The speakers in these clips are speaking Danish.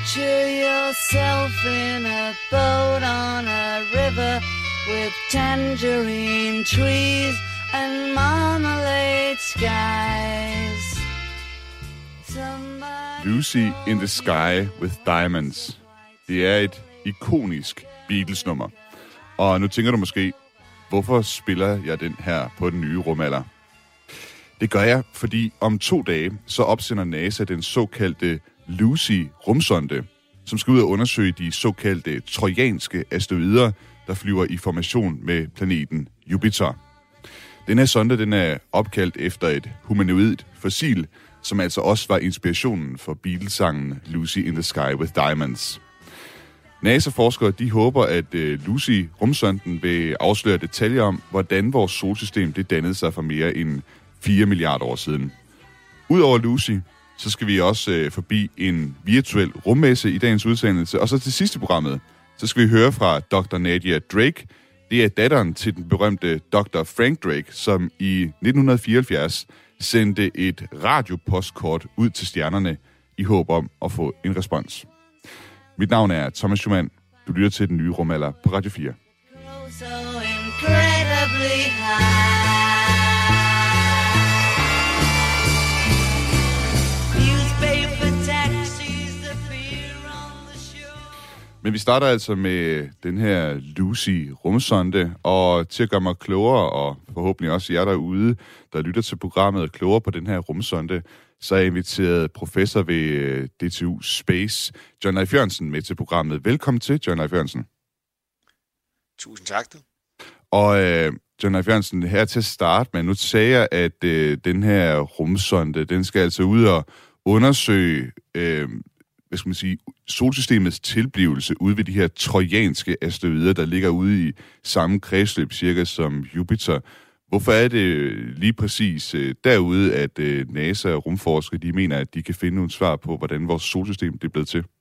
Picture yourself in a boat on a river with tangerine trees and marmalade skies. Lucy in the Sky with Diamonds. Det er et ikonisk Beatles-nummer. Og nu tænker du måske, hvorfor spiller jeg den her på den nye rumalder? Det gør jeg, fordi om 2 dage, så opsender NASA den såkaldte Lucy-rumsonde, som skal ud og undersøge de såkaldte trojanske asteroider, der flyver i formation med planeten Jupiter. Den her sonde, den er opkaldt efter et humanoidt fossil, som altså også var inspirationen for Beatles-sangen Lucy in the Sky with Diamonds. NASA-forskere de håber, at Lucy-rumsonden vil afsløre detaljer om, hvordan vores solsystem det dannede sig for mere end 4 milliarder år siden. Udover Lucy, så skal vi også forbi en virtuel rummesse i dagens udsendelse. Og så til sidste programmet, så skal vi høre fra Dr. Nadia Drake. Det er datteren til den berømte Dr. Frank Drake, som i 1974 sendte et radiopostkort ud til stjernerne i håb om at få en respons. Mit navn er Thomas Schumann. Du lytter til den nye rumalder på Radio 4. Men vi starter altså med den her Lucy-rumsonde, og til at gøre mig klogere, og forhåbentlig også jer derude, der lytter til programmet klogere på den her rumsonde, så er jeg inviteret professor ved DTU Space, John Leif Jørgensen, med til programmet. Velkommen til, John Leif Jørgensen. Tusind tak, du. Og John Leif Jørgensen, her til at starte med, nu sagde jeg, at den her rumsonde, den skal altså ud og undersøge solsystemets tilblivelse ude ved de her trojanske asteroider, der ligger ude i samme kredsløb cirka som Jupiter. Hvorfor er det lige præcis derude, at NASA og rumforskere de mener, at de kan finde nogle svar på, hvordan vores solsystem det er blevet til?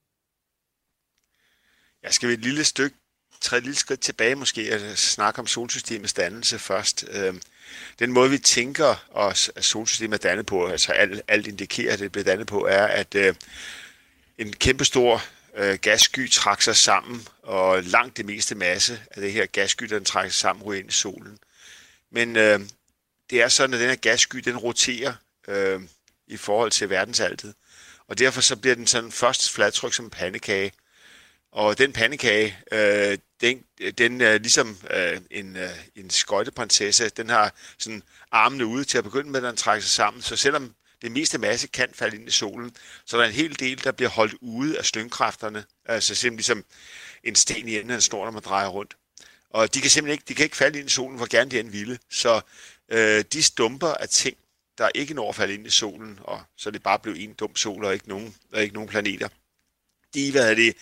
Jeg skal et lille skridt tilbage måske og snakke om solsystemets dannelse først. Den måde, vi tænker os, at solsystemet er dannet på, altså alt indikerer, at det bliver dannet på, er, at en kæmpestor gassky trækker sig sammen, og langt det meste masse af det her gassky, den trækker sig sammen, ryger ind i solen. Men det er sådan, at den her gassky, den roterer i forhold til verdensaltet, og derfor så bliver den sådan først fladtryk som en pandekage. Og den pandekage, den er ligesom en skøjteprinsesse, den har sådan armene ude til at begynde med, at den trækker sig sammen, så selvom det meste masse kan falde ind i solen, så der er en hel del, der bliver holdt ude af slyngkræfterne, altså simpelthen ligesom en sten i enden af en snor, når man drejer rundt. Og de kan simpelthen ikke falde ind i solen, hvor gerne de end ville. Så de stumper af ting, der ikke når at falde ind i solen, og så det bare blev en dum sol og ikke nogen planeter. De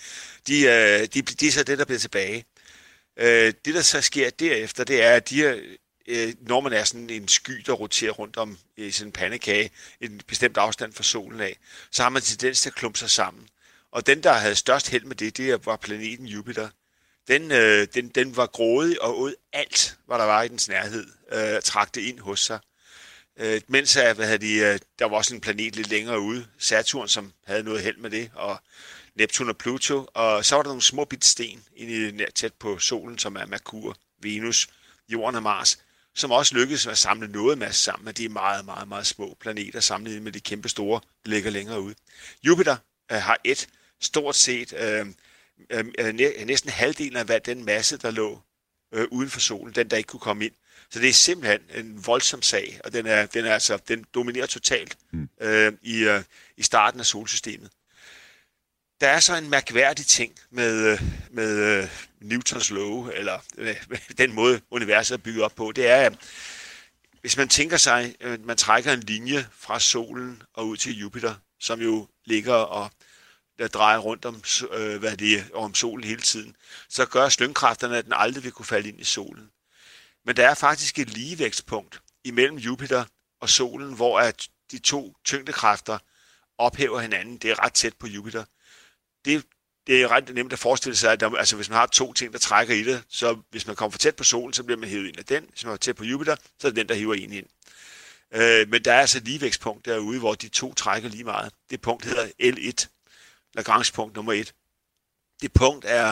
er så det, der bliver tilbage. Det, der så sker derefter, det er, at når man er sådan en sky, der roterer rundt om i sådan en pandekage, en bestemt afstand fra solen af, så har man tendens til at klumpe sig sammen. Og den, der havde størst held med det var planeten Jupiter. Den var grådig og åd alt, hvad der var i dens nærhed, trak det ind hos sig. Mens der var også en planet lidt længere ude, Saturn, som havde noget held med det, og Neptun og Pluto, og så var der nogle små bitte sten tæt på solen, som er Merkur, Venus, Jorden og Mars, som også lykkedes at samle noget masse sammen, men de er meget, meget, meget små planeter sammenlignet med de kæmpe store, der ligger længere ude. Jupiter har stort set næsten halvdelen af hvad den masse, der lå uden for solen, den der ikke kunne komme ind. Så det er simpelthen en voldsom sag, og den dominerer totalt i starten af solsystemet. Der er så en mærkværdig ting med Newtons love, eller den måde universet er bygget op på. Det er, hvis man tænker sig, at man trækker en linje fra solen og ud til Jupiter, som jo ligger og der drejer rundt om solen hele tiden, så gør slyngkræfterne, at den aldrig vil kunne falde ind i solen. Men der er faktisk et ligevægtspunkt imellem Jupiter og solen, hvor at de to tyngdekræfter ophæver hinanden. Det er ret tæt på Jupiter. Det er ret nemt at forestille sig, at hvis man har to ting, der trækker i det, så hvis man kommer for tæt på solen, så bliver man hævet ind af den. Hvis man er tæt på Jupiter, så er det den, der hiver en ind. Men der er altså et ligevægtspunkt derude, hvor de to trækker lige meget. Det punkt hedder L1. Lagrange-punkt nummer 1. Det punkt er,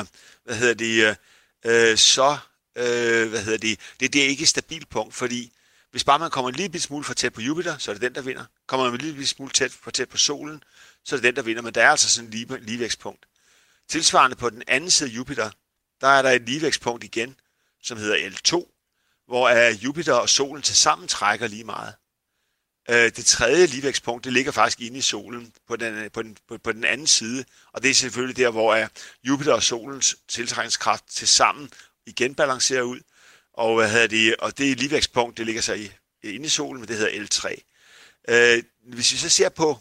det er ikke et stabilt punkt, fordi hvis bare man kommer en lille smule for tæt på Jupiter, så er det den, der vinder. Kommer man en lille smule for tæt på solen, så er det den, der vinder. Men der er altså sådan et ligevægtspunkt. Tilsvarende på den anden side af Jupiter, der er der et ligevægtspunkt igen, som hedder L2, hvor Jupiter og solen tilsammen trækker lige meget. Det tredje ligevægtspunkt, det ligger faktisk inde i solen på den anden side, og det er selvfølgelig der, hvor Jupiter og solens tiltrækningskraft tilsammen igen balancerer ud, og det ligevægtspunkt, det ligger så inde i solen, men det hedder L3. Hvis vi så ser på,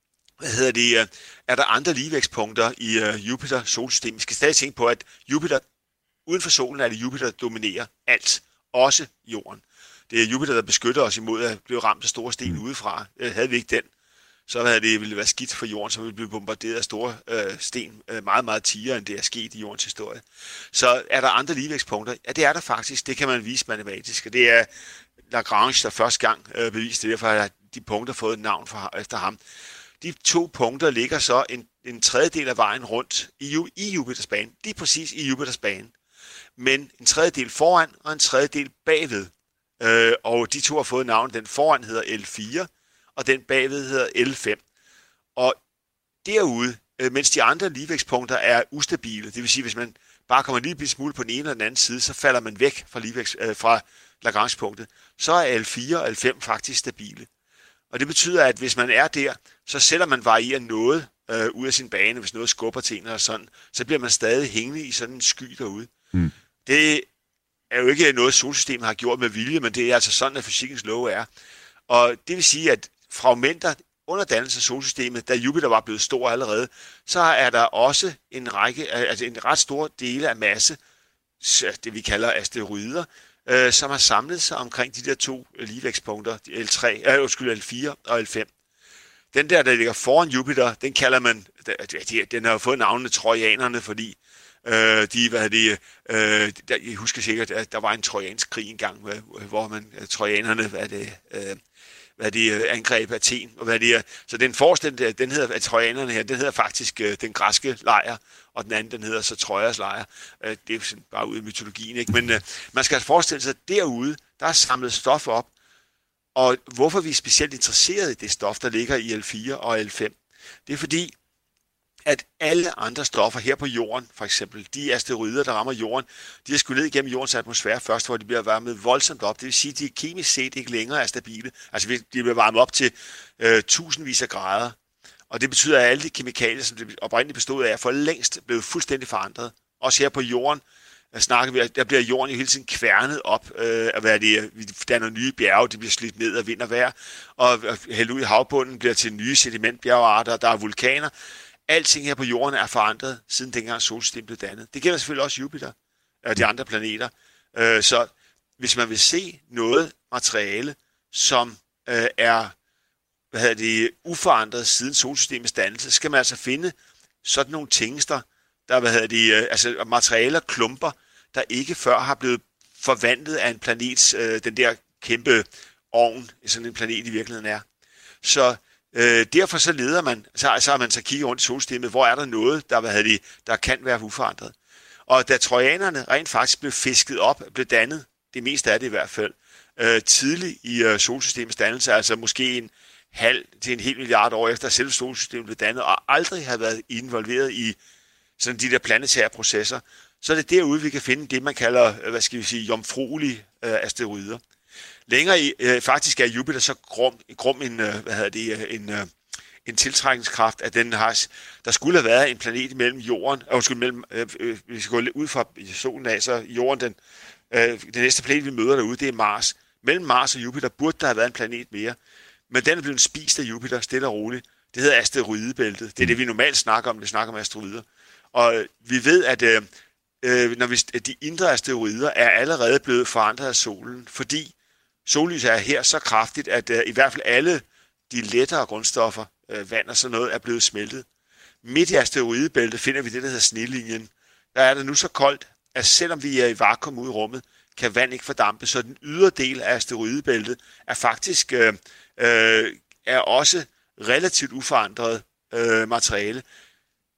er der andre ligevægtspunkter i Jupiter-solsystemet? Vi skal stadig tænke på, at Jupiter, uden for solen er det Jupiter, der dominerer alt, også jorden. Det er Jupiter, der beskytter os imod at blive ramt af store sten udefra. Havde vi ikke den, så ville det være skidt for jorden, så ville vi blive bombarderet af store sten meget, meget tigere, end det er sket i jordens historie. Så er der andre ligevægtspunkter? Ja, det er der faktisk. Det kan man vise matematisk. Og det er Lagrange, der første gang beviste det. Derfor har de punkter fået et navn efter ham. De 2 punkter ligger så en tredjedel af vejen rundt i Jupiters bane. De er præcis i Jupiters bane. Men en tredjedel foran og en tredjedel bagved. Og de 2 har fået navn. Den foran hedder L4, og den bagved hedder L5. Og derude, mens de andre ligevægtspunkter er ustabile, det vil sige, hvis man bare kommer en lille smule på den ene eller den anden side, så falder man væk fra Lagrange-punktet, så er L4 og L5 faktisk stabile. Og det betyder, at hvis man er der, så selvom man varierer noget ud af sin bane, hvis noget skubber til en eller sådan, så bliver man stadig hængende i sådan en sky derude. Det er jo ikke noget, solsystemet har gjort med vilje, men det er altså sådan, at fysikkens love er. Og det vil sige, at fragmenter under dannelsen af solsystemet, da Jupiter var blevet stor allerede, så er der også en ret stor dele af masse, det vi kalder asteroider, som har samlet sig omkring de der 2 ligevægtspunkter, L4 og L5. Den der ligger foran Jupiter, den kalder man, den har jo fået navnet trojanerne, fordi jeg husker sikkert, at der var en trojansk krig engang, hvor trojanerne, angreb Athen, så den forreste, den hedder, at trojanerne her, den hedder faktisk den græske lejr, og den anden, den hedder så Trojas lejr. Det er sådan bare ude i mytologien, ikke? Men man skal forestille sig, at derude, der er samlet stof op, og hvorfor vi er specielt interesseret i det stof, der ligger i L4 og L5, det er fordi, at alle andre stoffer her på jorden, for eksempel de asteroider, der rammer jorden, de har skudt ned igennem jordens atmosfære først, hvor de bliver varmet voldsomt op. Det vil sige, at de kemisk set ikke længere er stabile. Altså de bliver varmet op til tusindvis af grader. Og det betyder, at alle de kemikalier, som det oprindeligt bestod af, er for længst blevet fuldstændig forandret. Også her på jorden der bliver jorden jo hele tiden kværnet op, vi danner nye bjerge, de bliver slidt ned af vind og vejr, og hældt ud i havbunden bliver til nye sedimentbjergearter, der er vulkaner. Alting her på jorden er forandret, siden dengang solsystemet blev dannet. Det gælder selvfølgelig også Jupiter og de andre planeter. Så hvis man vil se noget materiale, som er uforandret siden solsystemets dannelse, så skal man altså finde sådan nogle tingester, der materialer, klumper, der ikke før har blevet forvandlet af en planets, den der kæmpe ovn, sådan en planet i virkeligheden er. Så derfor så leder man, så har man så kigget rundt i solsystemet, hvor er der noget, der kan være uforandret. Og da trojanerne rent faktisk blev fisket op, blev dannet, det meste af det i hvert fald, tidligt i solsystemets dannelse, altså måske en halv til en hel milliard år efter selve solsystemet blev dannet, og aldrig har været involveret i sådan de der planetære processer, så er det derude, vi kan finde det, man kalder, jomfruelige asteroider. Længere i, faktisk er Jupiter så grum en tiltrækningskraft, at der skulle have været en planet mellem jorden, vi skal gå ud fra solen af, så jorden, den næste planet, vi møder derude, det er Mars. Mellem Mars og Jupiter burde der have været en planet mere, men den er blevet spist af Jupiter, stille og roligt. Det hedder asteroidebæltet. Det er det, vi normalt snakker om, når vi snakker om asteroider. Og vi ved, at de indre asteroider er allerede blevet forandret af solen, fordi sollyset er her så kraftigt, at i hvert fald alle de lettere grundstoffer, vand og sådan noget, er blevet smeltet. Midt i asteroidebæltet finder vi det, der hedder snillinjen. Der er det nu så koldt, at selvom vi er i vakuum ude i rummet, kan vand ikke fordampe, så den ydre del af asteroidebæltet er faktisk er også relativt uforandret materiale.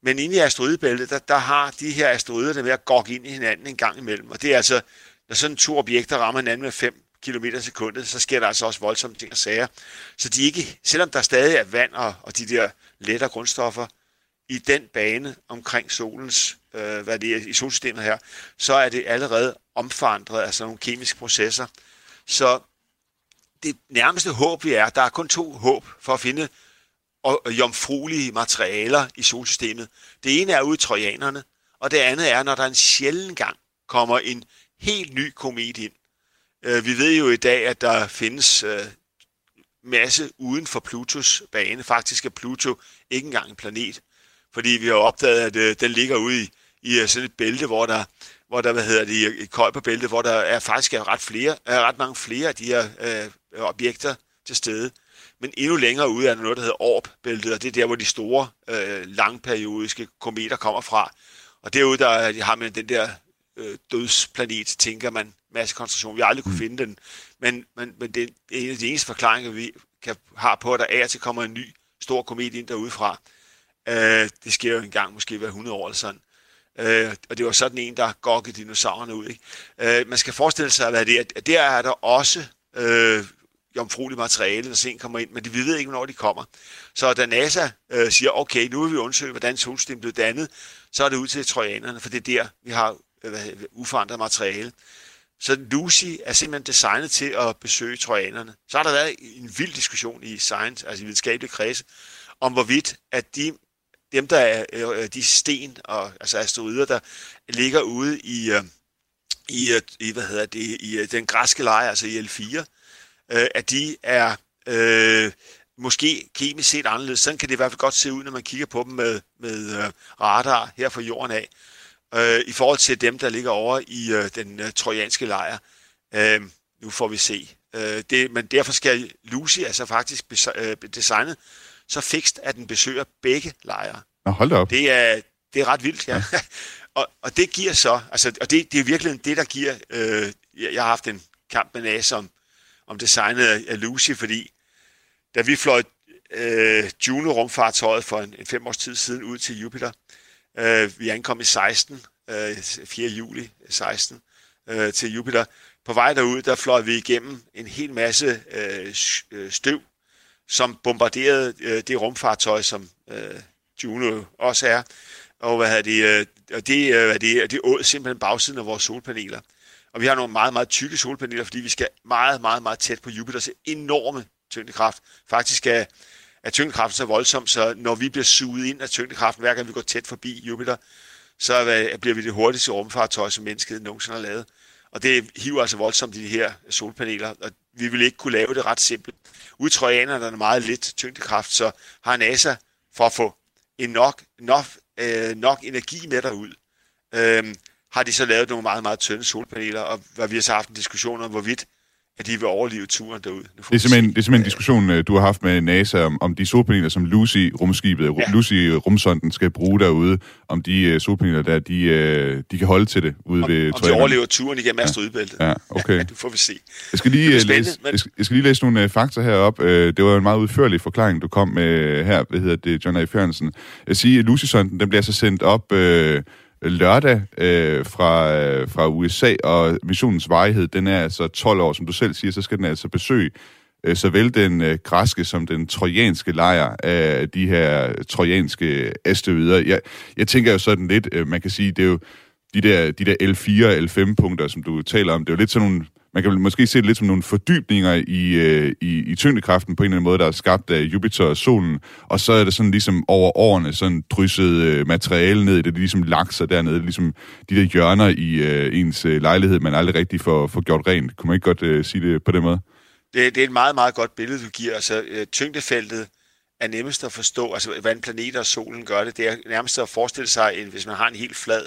Men inde i asteroidebæltet, der har de her asteroider der med at gå ind i hinanden en gang imellem. Og det er altså, når sådan 2 objekter rammer hinanden med 5 km i sekundet, så sker der altså også voldsomme ting og sager. Så de ikke, selvom der stadig er vand og de der lettere grundstoffer i den bane omkring solens, i solsystemet her, så er det allerede omforandret af sådan nogle kemiske processer. Så det nærmeste håb, vi er, der er kun 2 håb for at finde jomfruelige materialer i solsystemet. Det ene er ude i trojanerne, og det andet er, når der en sjælden gang kommer en helt ny komet ind. Vi ved jo i dag, at der findes masse uden for Plutos bane. Faktisk er Pluto ikke engang en planet, fordi vi har opdaget, at den ligger ude i sådan et bælte, hvor der et Kuiperbælte, hvor der faktisk er ret mange flere af de her objekter til stede. Men endnu længere ude er der noget, der hedder Orb-bæltet, og det er der, hvor de store, langperiodiske kometer kommer fra. Og derude der har man den der dødsplanet, tænker man, massekoncentration. Vi har aldrig kunne finde den, men det er en af de eneste forklaringer, vi har på, at der af og til kommer en ny stor komet ind derudefra. Det sker jo en gang, måske hver 100 år eller sådan. Og det var sådan en, der gokkede dinosaurerne ud. Ikke? Man skal forestille sig, at der er der også jomfrueligt materiale, når sen kommer ind, men vi ved ikke, hvornår de kommer. Så da NASA siger, okay, nu vil vi undersøge, hvordan solsystemet blev dannet, så er det ud til trojanerne, for det er der, vi har uforandret materiale. Så Lucy er simpelthen designet til at besøge trojanerne. Så har der været en vild diskussion i science, altså i videnskabelige kredse, om hvorvidt, at dem, der er de sten, og altså asteroider, der ligger ude i den græske lejr, altså i L4, at de er måske kemisk set anderledes. Sådan kan det i hvert fald godt se ud, når man kigger på dem med radar her fra jorden af, i forhold til dem, der ligger over i den trojanske lejr. Nu får vi se. Men derfor skal Lucy altså faktisk designet så fikst, at den besøger begge lejre. Nå, hold da op. Det er ret vildt, ja. og det giver så, altså, og det er virkelig det, der giver, jeg har haft en kamp med NASA om designet af Lucy, fordi da vi fløj Juno-rumfartøjet for en 5 års tid siden ud til Jupiter, vi ankom i 4. juli 16 til Jupiter. På vej derud, der fløj vi igennem en hel masse støv, som bombarderede det rumfartøj, som Juno også er. Og det åd simpelthen bagsiden af vores solpaneler. Og vi har nogle meget, meget tykke solpaneler, fordi vi skal meget, meget, meget tæt på Jupiters enorme tyngdekraft. Faktisk er tyngdekraften så voldsom, så når vi bliver suget ind af tyngdekraften, hver gang vi går tæt forbi Jupiter, så bliver vi det hurtigste rumfartøj, som mennesket nogensinde har lavet. Og det hiver altså voldsomt de her solpaneler, og vi ville ikke kunne lave det ret simpelt. Ude i trojanerne er der meget lidt tyngdekraft, så har NASA for at få nok energi med derud, har de så lavet nogle meget, meget tynde solpaneler, og vi har så haft en diskussion om, hvorvidt at de vil overleve turen derude. Det er simpelthen en diskussion, du har haft med NASA om de solpaneler, som Lucy-rumskibet, Lucy-rumsonden skal bruge derude, om de solpaneler der, de kan holde til det ude ved Om de overlever turen igennem asteroidebæltet. Ja, okay. Ja, det får vi se. Jeg skal lige læse nogle fakta herop. Det var en meget udførlig forklaring, du kom med her, John A. Fjernsson. Jeg siger, at Lucy-sonden, den bliver så sendt op lørdag fra USA, og missionens varighed, den er altså 12 år. Som du selv siger, så skal den altså besøge såvel den græske som den trojanske lejr af de her trojanske asteroider. Jeg tænker jo sådan lidt, man kan sige, det er jo de der L4 og L5-punkter, som du taler om, det er jo lidt sådan nogle, man kan måske se det lidt som nogle fordybninger i tyngdekraften på en eller anden måde, der er skabt af Jupiter og solen, og så er det sådan ligesom over årene sådan drysset materiale ned i det, ligesom lakser dernede, ligesom de der hjørner i ens lejlighed, man aldrig rigtig får gjort rent. Kunne man ikke godt sige det på den måde? Det er et meget, meget godt billede, du giver. Altså, tyngdefeltet er nemmest at forstå, altså hvordan planeter og solen gør det. Det er nærmest at forestille sig, hvis man har en helt flad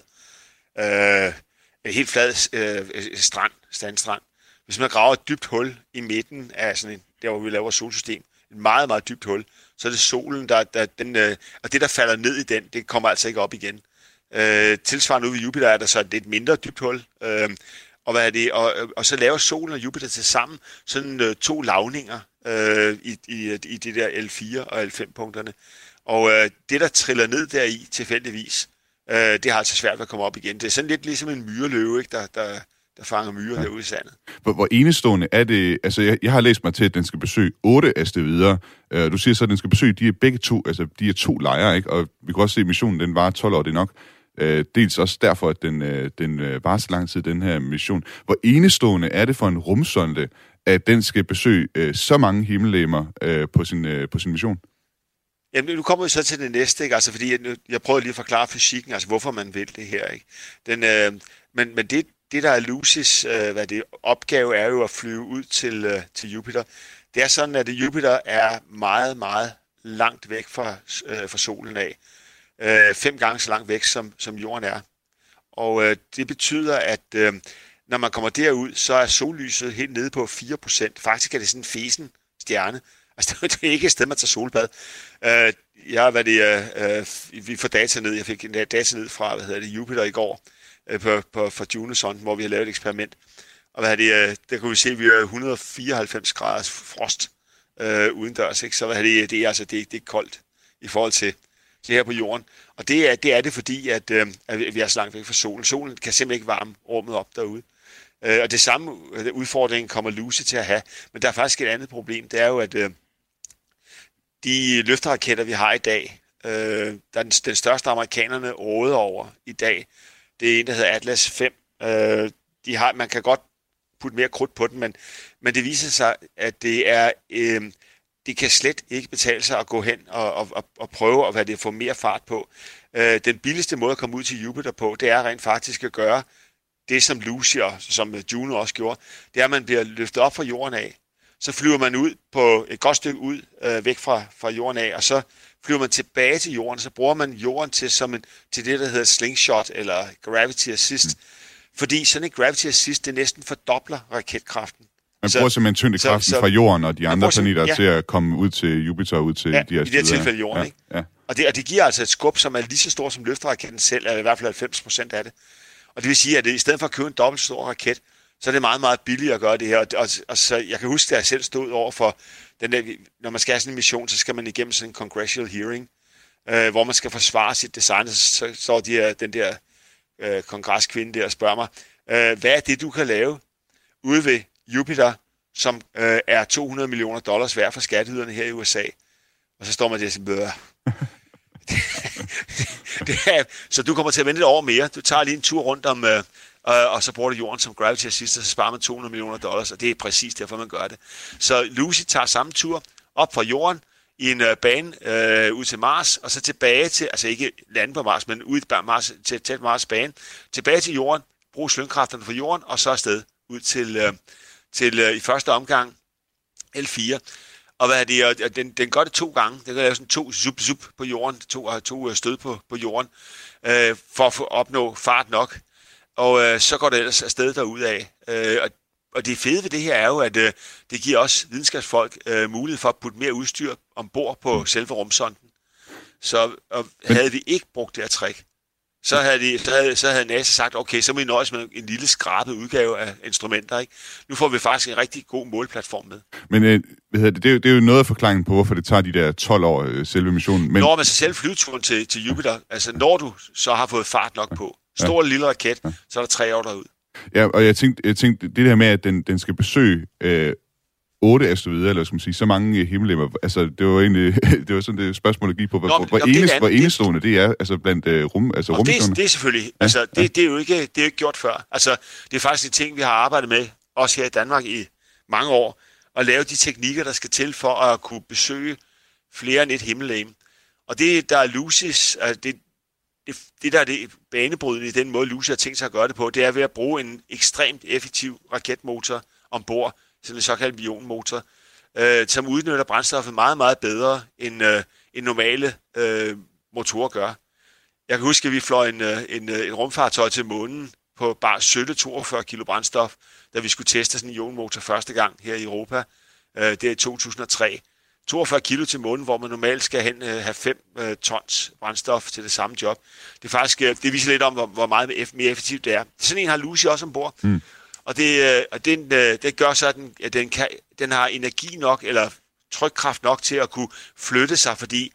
sandstrand. Hvis man graver et dybt hul i midten af sådan der, hvor vi laver et solsystem, et meget, meget dybt hul, så er det solen, og det, der falder ned i den, det kommer altså ikke op igen. Tilsvarende ude ved Jupiter er der så et lidt dybt hul, og så laver solen og Jupiter til sammen sådan 2 lavninger i det der L4 og L5-punkterne. Og det, der triller ned deri tilfældigvis, det har altså svært ved at komme op igen. Det er sådan lidt ligesom en myreløve, ikke? Der fanger myrer derude i sandet. Hvor enestående er det? Altså, jeg har læst mig til, at den skal besøge 8 asteroider. Du siger så, at den skal besøge, de er begge to, altså de er 2 lejre, ikke? Og vi kan også se, at missionen, den varer 12 år, det er nok. Dels også derfor, at den varer så lang tid, den her mission. Hvor enestående er det for en rumsonde, at den skal besøge så mange himmellegemer på sin mission? Jamen, nu kommer vi så til det næste, ikke? Altså, fordi jeg prøver lige at forklare fysikken, altså hvorfor man vil det her, ikke? Men det, der er Lucys opgave, er jo at flyve ud til Jupiter. Det er sådan, at Jupiter er meget, meget langt væk fra solen af. 5 gange så langt væk, som jorden er. Og det betyder, at når man kommer derud, så er sollyset helt nede på 4%. Faktisk er det sådan en fesen stjerne. Altså, det er ikke et sted, man tager solbad. Vi får data ned. Jeg fik en data ned fra Jupiter i går fra Juno-sonden, hvor vi har lavet et eksperiment. Og der kunne vi se, at vi har 194 graders frost udendørs. Ikke? Så det er koldt i forhold til her på jorden. Og det er det, fordi at vi er så langt væk fra solen. Solen kan simpelthen ikke varme rummet op derude. Og det samme udfordring kommer Lucy til at have. Men der er faktisk et andet problem. Det er jo, at de løfteraketter, vi har i dag, der er den største amerikanerne råder over i dag. Det er en, der hedder Atlas 5. Man kan godt putte mere krudt på den, men det viser sig, at det kan slet ikke betale sig at gå hen og prøve at få mere fart på. Den billigste måde at komme ud til Jupiter på, det er rent faktisk at gøre det, som Lucy og som Juno også gjorde. Det er, at man bliver løftet op fra jorden af. Så flyver man ud på et godt stykke ud væk fra jorden af, og så flyver man tilbage til jorden, så bruger man jorden til det, der hedder slingshot eller gravity assist. Fordi sådan et gravity assist, det næsten fordobler raketkraften. Man bruger simpelthen tyngdekraften fra jorden og de andre planeter til at komme ud til Jupiter og ud til de her steder. I det her tilfælde jorden, ikke? Ja. Og det giver altså et skub, som er lige så stort som løfteraketten selv, eller i hvert fald 90% af det. Og det vil sige, at i stedet for at købe en dobbelt stor raket, så er det meget, meget billigt at gøre det her. Og så jeg kan huske, at jeg selv stod over for den der, når man skal have sådan en mission, så skal man igennem sådan en congressional hearing, hvor man skal forsvare sit design. Så står den der kongreskvinde der og spørger mig, hvad er det, du kan lave ude ved Jupiter, som er $200 million værd for skatteyderne her i USA? Og så står man der og siger, så du kommer til at vente et år mere. Du tager lige en tur rundt om, og så bruger du jorden som gravity assist, og så sparer man $200 million, og det er præcis derfor, man gør det. Så Lucy tager samme tur op fra jorden i en bane ud til Mars, og så tilbage til, altså ikke lande på Mars, men ud til Mars, til Mars bane, tilbage til jorden, bruge slyngkræfterne fra jorden, og så afsted ud til i første omgang L4. Og den gør det 2 gange. Den kan lave sådan 2 zup på jorden, to stød på jorden, for at opnå fart nok. Og så går det ellers afsted derudad. Og det fede ved det her er jo, at det giver også videnskabsfolk mulighed for at putte mere udstyr ombord på selve rumsonden. Så havde vi ikke brugt det her trick, så havde NASA sagt, okay, så må vi nøjes med en lille skrabet udgave af instrumenter, ikke? Nu får vi faktisk en rigtig god måleplatform med. Men det er jo noget af forklaringen på, hvorfor det tager de der 12 år selve missionen. Men når man så selv flyveturen til Jupiter, altså når du så har fået fart nok på, stor eller lille raket, så er der 3 år derud. Ja, og jeg tænkte det der med, at den skal besøge 8 asteroider, eller skal man sige, så mange himmellegemer. Altså, det var egentlig det var sådan det spørgsmål, der gik på, hvor enestående det er, altså blandt rummissioner. Det er selvfølgelig, altså, det er jo ikke gjort før. Altså, det er faktisk en ting, vi har arbejdet med, også her i Danmark i mange år, at lave de teknikker, der skal til for at kunne besøge flere end et himmellegeme. Og det, der er Lucys, det der er det banebrydende i den måde, Lucy har tænkt sig at gøre det på, det er ved at bruge en ekstremt effektiv raketmotor ombord, sådan en såkaldt ionmotor, som udnytter brændstoffet meget, meget bedre end normale motorer gør. Jeg kan huske, at vi fløj en rumfartøj til månen på bare 42 kilo brændstof, da vi skulle teste sådan en ionmotor første gang her i Europa. Det er i 2003. 42 kilo til månen, hvor man normalt skal have 5 tons brændstof til det samme job. Det er faktisk, det viser lidt om, hvor meget mere effektivt det er. Sådan en har Lucy også ombord. Og det gør så, at den har energi nok, eller trykkraft nok til at kunne flytte sig, fordi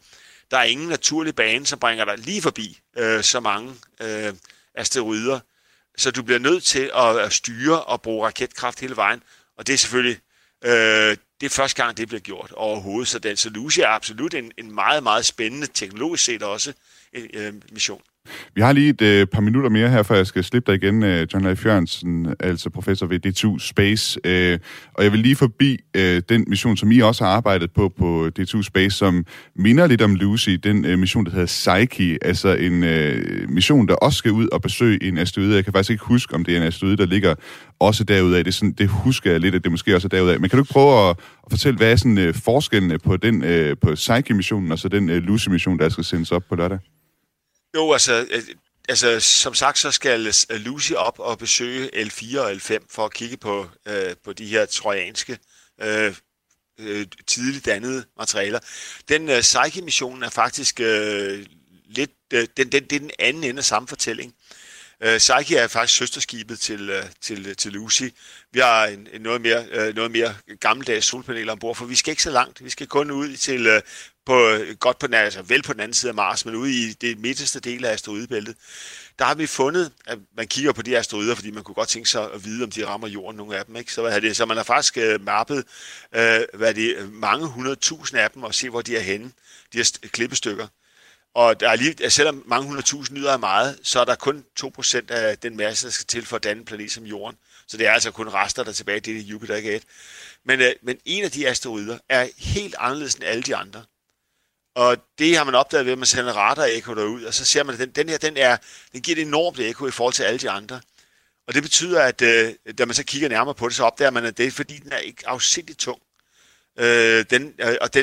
Der er ingen naturlig bane, som bringer dig lige forbi så mange asteroider. Så du bliver nødt til at styre og bruge raketkraft hele vejen. Og det er selvfølgelig det er første gang, det bliver gjort overhovedet. Så Lucy er absolut en meget, meget spændende, teknologisk set også, mission. Vi har lige et par minutter mere her, før jeg skal slippe dig igen, John Leif Jørgensen, altså professor ved D2 Space. Og jeg vil lige forbi den mission, som I også har arbejdet på D2 Space, som minder lidt om Lucy, den mission, der hedder Psyche, altså en mission, der også skal ud og besøge en asteroide. Jeg kan faktisk ikke huske, om det er en asteroide, der ligger også derudaf. Det husker jeg lidt, at det måske også er derudaf. Men kan du ikke prøve at fortælle, hvad er sådan forskellene på den på Psyche-missionen og så den Lucy-mission, der skal sendes op på lørdag? Jo, altså som sagt, så skal Lucy op og besøge L4 og L5 for at kigge på de her trojanske tidligt dannede materialer. Den Psyche-missionen er faktisk lidt det er den anden ende af samme fortælling. Psyche er faktisk søsterskibet til Lucy. Vi har noget mere gammeldags solpaneler ombord, for vi skal ikke så langt. Vi skal kun ud til vel på den anden side af Mars, men ude i det midterste del af asteroidebæltet. Der har vi fundet, at man kigger på de asteroider, fordi man kunne godt tænke sig at vide, om de rammer jorden, nogle af dem, ikke? Så man har faktisk mappet mange 100.000 af dem og se, hvor de er henne, de her klippestykker. Og der er selvom mange 100.000 lyder af meget, så er der kun 2% af den masse, der skal til for at danne en planet som Jorden. Så det er altså kun rester, der er tilbage. Det er Jupiter, ikke et. Men en af de asteroider er helt anderledes end alle de andre. Og det har man opdaget ved, at man sender radar-ekko derud, og så ser man, at den giver et enormt ekko i forhold til alle de andre. Og det betyder, at da man så kigger nærmere på det, så opdager man, at det er, fordi den er ikke afsindigt tung. Den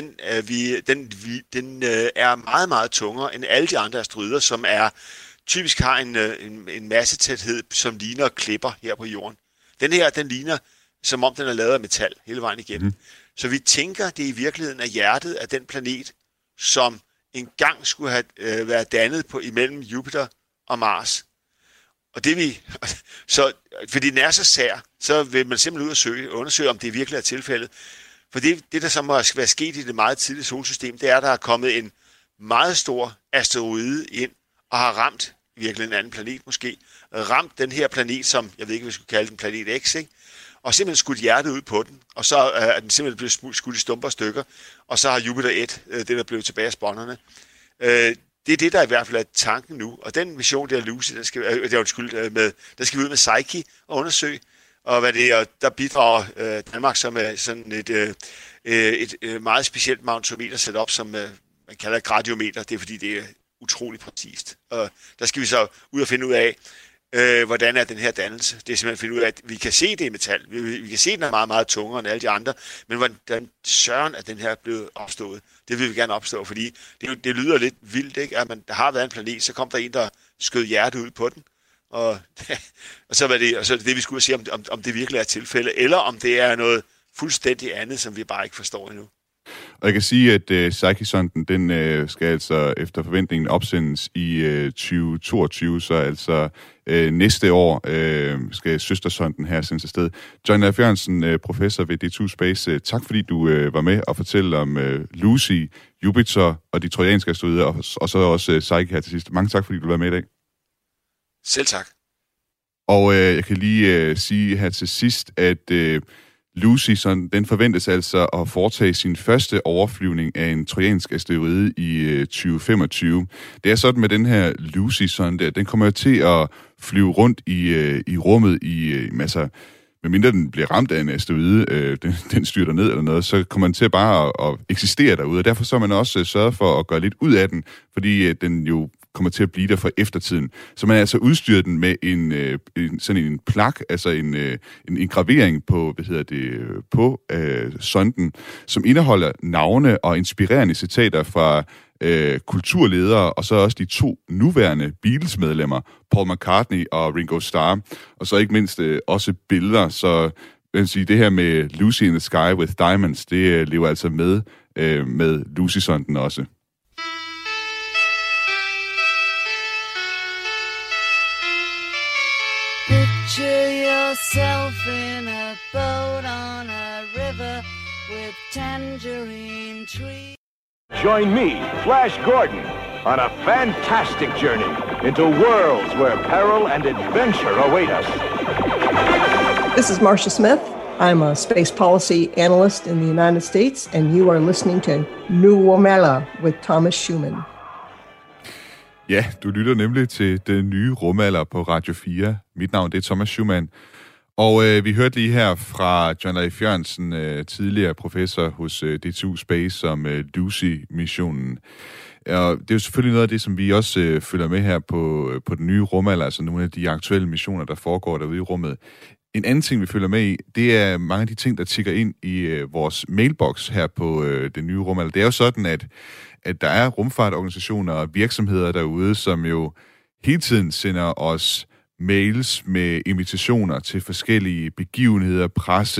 er meget, meget tungere end alle de andre asteroider, som typisk har en massetæthed, som ligner klipper her på jorden. Den her, den ligner, som om den er lavet af metal hele vejen igennem. Så vi tænker, det i virkeligheden er hjertet af den planet, som engang skulle have været dannet imellem Jupiter og Mars. Og fordi den er så sær, så vil man simpelthen ud og undersøge, om det virkelig er tilfældet. For det der så må være sket i det meget tidlige solsystem, det er, at der er kommet en meget stor asteroide ind og har ramt virkelig en anden planet måske. Ramt den her planet, som jeg ved ikke, hvad vi skulle kalde den, planet X, ikke? Og simpelthen skudt hjertet ud på den, og så er den simpelthen blevet skudt i stumper stykker, og så har Jupiter 1, det der blev tilbage af spånderne. Det er det, der i hvert fald er tanken nu, og den mission, der er Lucy, der skal vi ud med Psyche og undersøge, og der bidrager Danmark som er sådan et meget specielt magnetometer sat op, som man kalder et gradiometer. Det er fordi, det er utroligt præcist. Og der skal vi så ud og finde ud af, hvordan er den her dannelse. Det er simpelthen finde ud af, at vi kan se det i metal. Vi kan se, at den er meget, meget tungere end alle de andre. Men hvordan søren er den her blevet opstået? Det vil vi gerne opstå, fordi det lyder lidt vildt, ikke? At der har været en planet, så kom der en, der skød hjertet ud på den. Og så er det, vi skulle se, om det virkelig er tilfælde, eller om det er noget fuldstændig andet, som vi bare ikke forstår endnu. Og jeg kan sige, at Psyche-sonden, den skal altså efter forventningen opsendes i 2022, så altså næste år skal søstersonden her sendes afsted. John Leif Jørgensen, professor ved D2 Space, tak fordi du var med og fortælle om Lucy, Jupiter og de trojanske asteroider, og så også Psyche her til sidst. Mange tak, fordi du var med i dag. Selv tak. Og jeg kan lige sige her til sidst, at Lucy, den forventes altså at foretage sin første overflyvning af en trojansk asteroide i 2025. Det er sådan med den her Lucy-sonde, den kommer til at flyve rundt i rummet medmindre den bliver ramt af en asteroide, den styrter ned eller noget, så kommer den til bare at eksistere derude. Og derfor så har man også sørget for at gøre lidt ud af den, fordi den jo kommer til at blive der for eftertiden. Så man altså udstyrer den med en plak, altså en gravering på, på sonden, som indeholder navne og inspirerende citater fra kulturledere, og så også de 2 nuværende Beatles-medlemmer, Paul McCartney og Ringo Starr, og så ikke mindst også billeder. Så jeg vil sige, det her med Lucy in the Sky with Diamonds, det lever altså med Lucy-sonden også. Picture yourself in a boat on a river with tangerine trees. Join me, Flash Gordon, on a fantastic journey into worlds where peril and adventure await us. This is Marcia Smith. I'm a space policy analyst in the United States, and you are listening to New Rumela with Thomas Schumann. Ja, du lytter nemlig til Den Nye Rumalder på Radio 4. Mit navn det er Thomas Schumann. Og vi hørte lige her fra John Leif Jørgensen, tidligere professor hos DTU Space, om Lucy-missionen. Og det er jo selvfølgelig noget af det, som vi også følger med her på Den Nye Rumalder, altså nogle af de aktuelle missioner, der foregår derude i rummet. En anden ting, vi følger med i, det er mange af de ting, der tikker ind i vores mailbox her på Den Nye Rumalder. Det er jo sådan, at der er rumfartorganisationer og virksomheder derude, som jo hele tiden sender os mails med invitationer til forskellige begivenheder,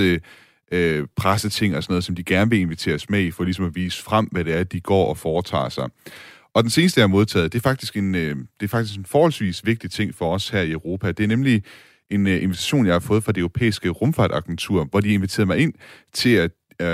presseting og sådan noget, som de gerne vil invitere os med i, for ligesom at vise frem, hvad det er, de går og foretager sig. Og den seneste, jeg har modtaget, det er faktisk en forholdsvis vigtig ting for os her i Europa. Det er nemlig en invitation, jeg har fået fra det europæiske rumfartagentur, hvor de inviterede mig ind til at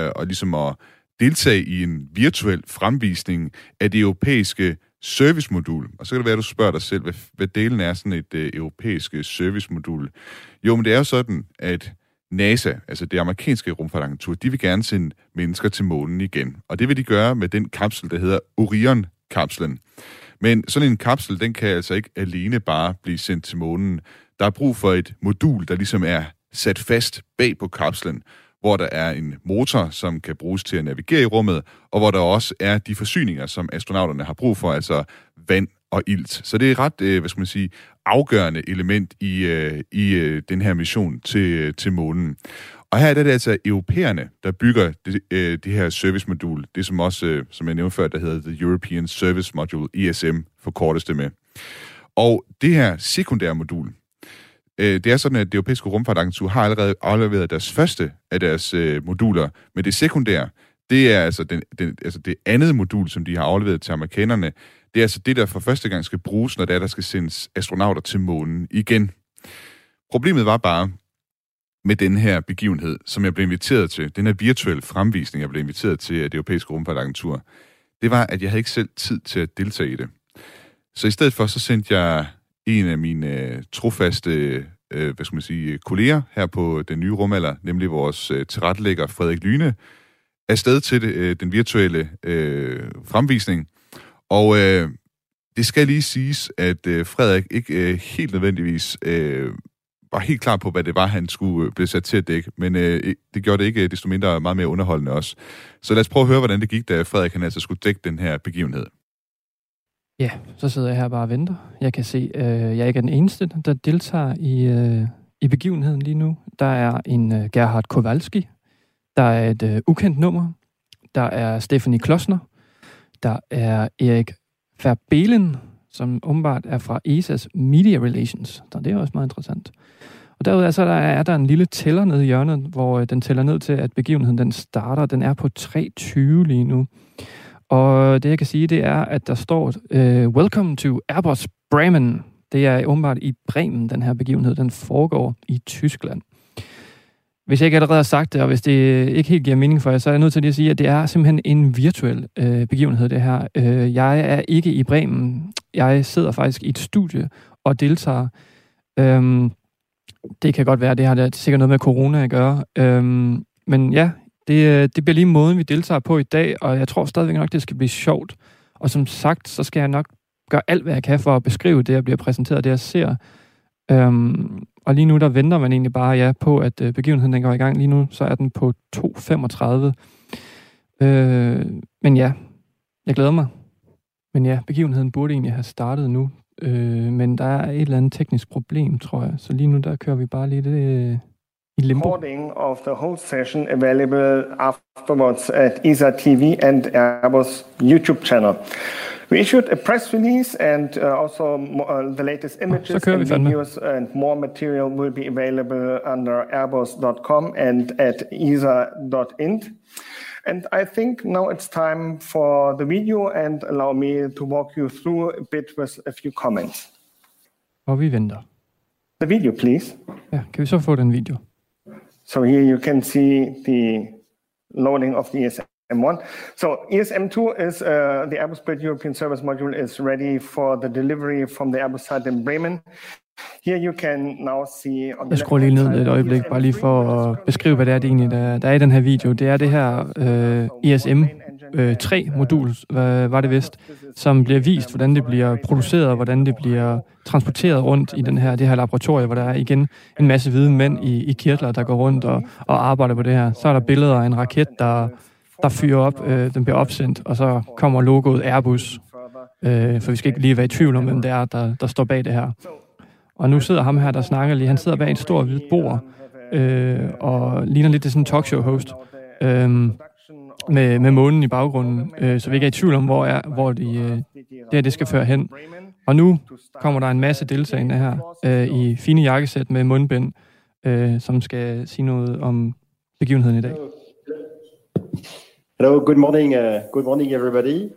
deltage i en virtuel fremvisning af det europæiske servicemodul. Og så kan det være, at du spørger dig selv, hvad delen er sådan et europæiske servicemodul. Jo, men det er jo sådan, at NASA, altså det amerikanske rumfartagentur, de vil gerne sende mennesker til månen igen. Og det vil de gøre med den kapsel, der hedder Orion-kapslen. Men sådan en kapsel, den kan altså ikke alene bare blive sendt til månen. Der er brug for et modul, der ligesom er sat fast bag på kapslen, hvor der er en motor, som kan bruges til at navigere i rummet, og hvor der også er de forsyninger, som astronauterne har brug for, altså vand og ilt. Så det er et ret, afgørende element i den her mission til månen. Og her er det altså europæerne, der bygger det her servicemodul, det som også, som jeg nævnte før, der hedder The European Service Module, ESM, forkortes det med. Og det her sekundære modul, det er sådan, at det europæiske rumfartagentur har allerede afleveret deres første af deres moduler, men det sekundære, det er altså det andet modul, som de har afleveret til amerikanerne. Det er altså det, der for første gang skal bruges, når der skal sendes astronauter til månen igen. Problemet var bare med den her begivenhed, som jeg blev inviteret til, den her virtuelle fremvisning, jeg blev inviteret til af det europæiske rumfartagentur, det var, at jeg havde ikke selv tid til at deltage i det. Så i stedet for, så sendte jeg en af mine trofaste kolleger her på Den Nye Rumalder, nemlig vores tilrettelægger Frederik Lyne, afsted til den virtuelle fremvisning. Og det skal lige siges, at Frederik ikke helt nødvendigvis var helt klar på, hvad det var, han skulle blive sat til at dække, men det gjorde det ikke desto mindre meget mere underholdende også. Så lad os prøve at høre, hvordan det gik, da Frederik han altså skulle dække den her begivenhed. Ja, så sidder jeg her bare og venter. Jeg kan se, jeg er ikke den eneste, der deltager i begivenheden lige nu. Der er en Gerhard Kowalski. Der er et ukendt nummer. Der er Stephanie Klossner. Der er Erik Verbelen, som åbenbart er fra ESA's Media Relations. Så det er også meget interessant. Og derudover så er der en lille tæller nede i hjørnet, hvor den tæller ned til, at begivenheden den starter. Den er på 3:20 lige nu. Og det, jeg kan sige, det er, at der står Welcome to Airbus Bremen. Det er åbenbart i Bremen, den her begivenhed. Den foregår i Tyskland. Hvis jeg ikke allerede har sagt det, og hvis det ikke helt giver mening for jer, så er jeg nødt til at sige, at det er simpelthen en virtuel begivenhed, det her. Jeg er ikke i Bremen. Jeg sidder faktisk i et studie og deltager. Det kan godt være, det har sikkert noget med corona at gøre. Men ja, det bliver lige måden, vi deltager på i dag, og jeg tror stadigvæk nok, det skal blive sjovt. Og som sagt, så skal jeg nok gøre alt, hvad jeg kan for at beskrive det, jeg bliver præsenteret, det jeg ser. Og lige nu, der venter man egentlig bare på, at begivenheden den går i gang. Lige nu, så er den på 2:35. Men ja, jeg glæder mig. Men ja, begivenheden burde egentlig have startet nu. Men der er et eller andet teknisk problem, tror jeg. Så lige nu, der kører vi bare lidt i limbo. Recording of the whole session available afterwards at ESA TV and Airbus YouTube channel. We issued a press release and also the latest images and videos and more material will be available under airbus.com and at esa.int. And I think now it's time for the video and allow me to walk you through a bit with a few comments. Og vi venter. The video, please. Ja, kan vi så få den video? So here you can see the loading of the ESM1. So ESM2 is the Airbus Built European Service Module is ready for the delivery from the Airbus site in Bremen. Here you can now see on jeg skruer lige ned et øjeblik, bare lige for at beskrive, hvad det er, det egentlig der er i den her video. Det er det her ESM3-modul, var det vist, som bliver vist, hvordan det bliver produceret, og hvordan det bliver transporteret rundt i det her laboratorie, hvor der er igen en masse hvide mænd i kirtler, der går rundt og arbejder på det her. Så er der billeder af en raket, der fyrer op, den bliver opsendt, og så kommer logoet Airbus, for vi skal ikke lige være i tvivl om, hvem det er, der står bag det her. Og nu sidder ham her, der snakker lige. Han sidder bag et stort hvidt bord, og ligner lidt til sådan en talkshow-host, med månen i baggrunden, så vi ikke er i tvivl om, hvor det skal føre hen. Og nu kommer der en masse deltagende her, i fine jakkesæt med mundbind, som skal sige noget om begivenheden i dag. Hello, good morning everybody.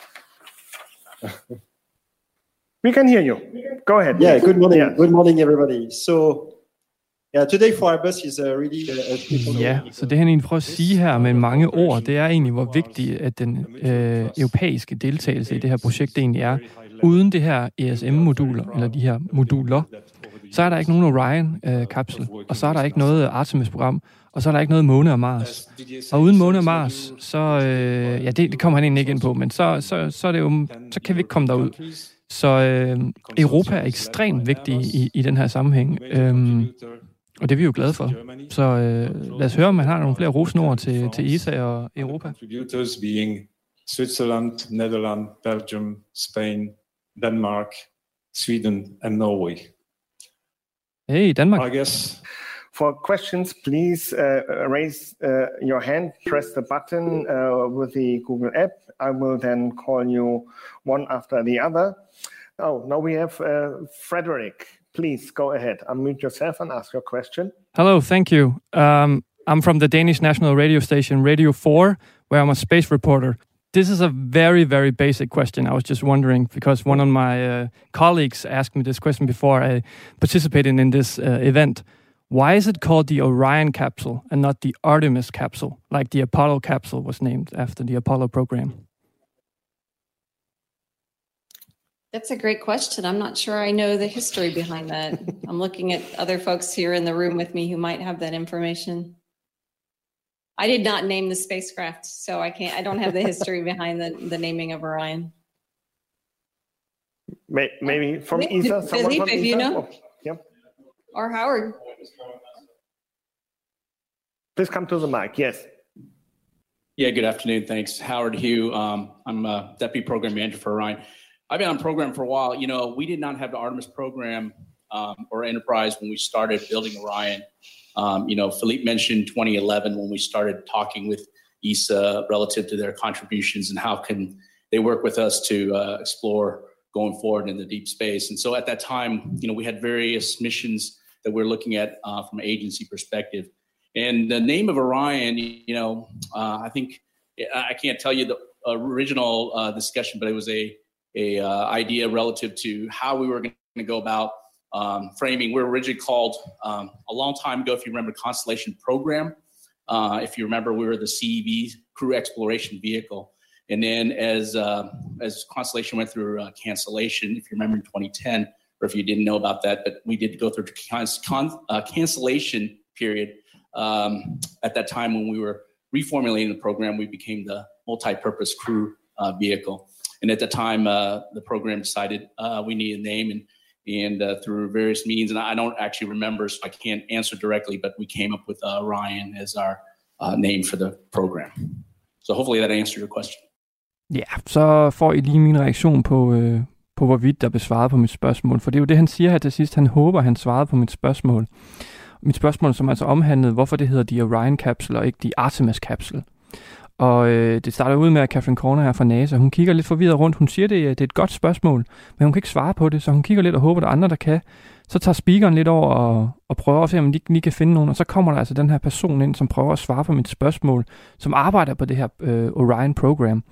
We can hear you. Go ahead. Yeah, good morning. Yeah. Good morning, everybody. So, today for Airbus is really... så det han egentlig prøver at sige her med mange ord, det er egentlig, hvor vigtigt, at den europæiske deltagelse i det her projekt egentlig er. Uden det her ESM-moduler, eller de her moduler, så er der ikke nogen Orion-kapsel, og så er der ikke noget Artemis-program, og så er der ikke noget Måne og Mars. Og uden Måne og Mars, så... det kommer han egentlig ikke ind på, men så er det jo, så kan vi ikke komme derud. Så Europa er ekstremt vigtig i den her sammenhæng, og det er vi jo glade for. Så lad os høre, om man har nogle flere rosende ord til ESA og Europa. Contributors being Switzerland, Netherlands, Belgium, Spain, Denmark, Sweden and Norway. Hey, Danmark. I guess. For questions, please raise your hand, press the button with the Google app. I will then call you one after the other. Oh, now we have Frederick. Please go ahead, unmute yourself and ask your question. Hello, thank you. I'm from the Danish national radio station, Radio 4, where I'm a space reporter. This is a very, very basic question. I was just wondering, because one of my colleagues asked me this question before I participated in this event. Why is it called the Orion capsule and not the Artemis capsule, like the Apollo capsule was named after the Apollo program? That's a great question. I'm not sure I know the history behind that. I'm looking at other folks here in the room with me who might have that information. I did not name the spacecraft, so I don't have the history behind the naming of Orion. Maybe from ESA, someone from ESA? You know? Oh, yep. Or Howard. Please come to the mic, yes. Yeah, good afternoon, thanks. Howard Hugh, I'm a Deputy Program Manager for Orion. I've been on program for a while. You know, we did not have the Artemis program or Enterprise when we started building Orion. Philippe mentioned 2011 when we started talking with ESA relative to their contributions and how can they work with us to explore going forward in the deep space. And so at that time, we had various missions that we're looking at from an agency perspective. And the name of Orion, I think I can't tell you the original discussion, but it was a idea relative to how we were going to go about framing. We were originally called a long time ago, if you remember, Constellation Program. If you remember, we were the CEV, Crew Exploration Vehicle. And then as Constellation went through cancellation, if you remember in 2010, or if you didn't know about that, but we did go through cancellation period. At that time when we were reformulating the program, we became the multi-purpose crew vehicle. And at the time, the program decided we needed a name, and through various means, and I don't actually remember, so I can't answer directly, but we came up with Orion as our name for the program. So hopefully that answered your question. Ja, så får I lige min reaktion på hvorvidt der blev svaret på mit spørgsmål. For det er jo det, han siger her til sidst. Han håber, han svarede på mit spørgsmål. Mit spørgsmål, som altså omhandlede, hvorfor det hedder de Orion Capsule og ikke de Artemis Capsule. Og det starter ud med, at Catherine Corner her fra NASA, hun kigger lidt forvirret rundt. Hun siger, det er et godt spørgsmål, men hun kan ikke svare på det, så hun kigger lidt og håber, der er andre, der kan. Så tager speakeren lidt over og prøver at se, om de lige kan finde nogen. Og så kommer der altså den her person ind, som prøver at svare på mit spørgsmål, som arbejder på det her Orion-program.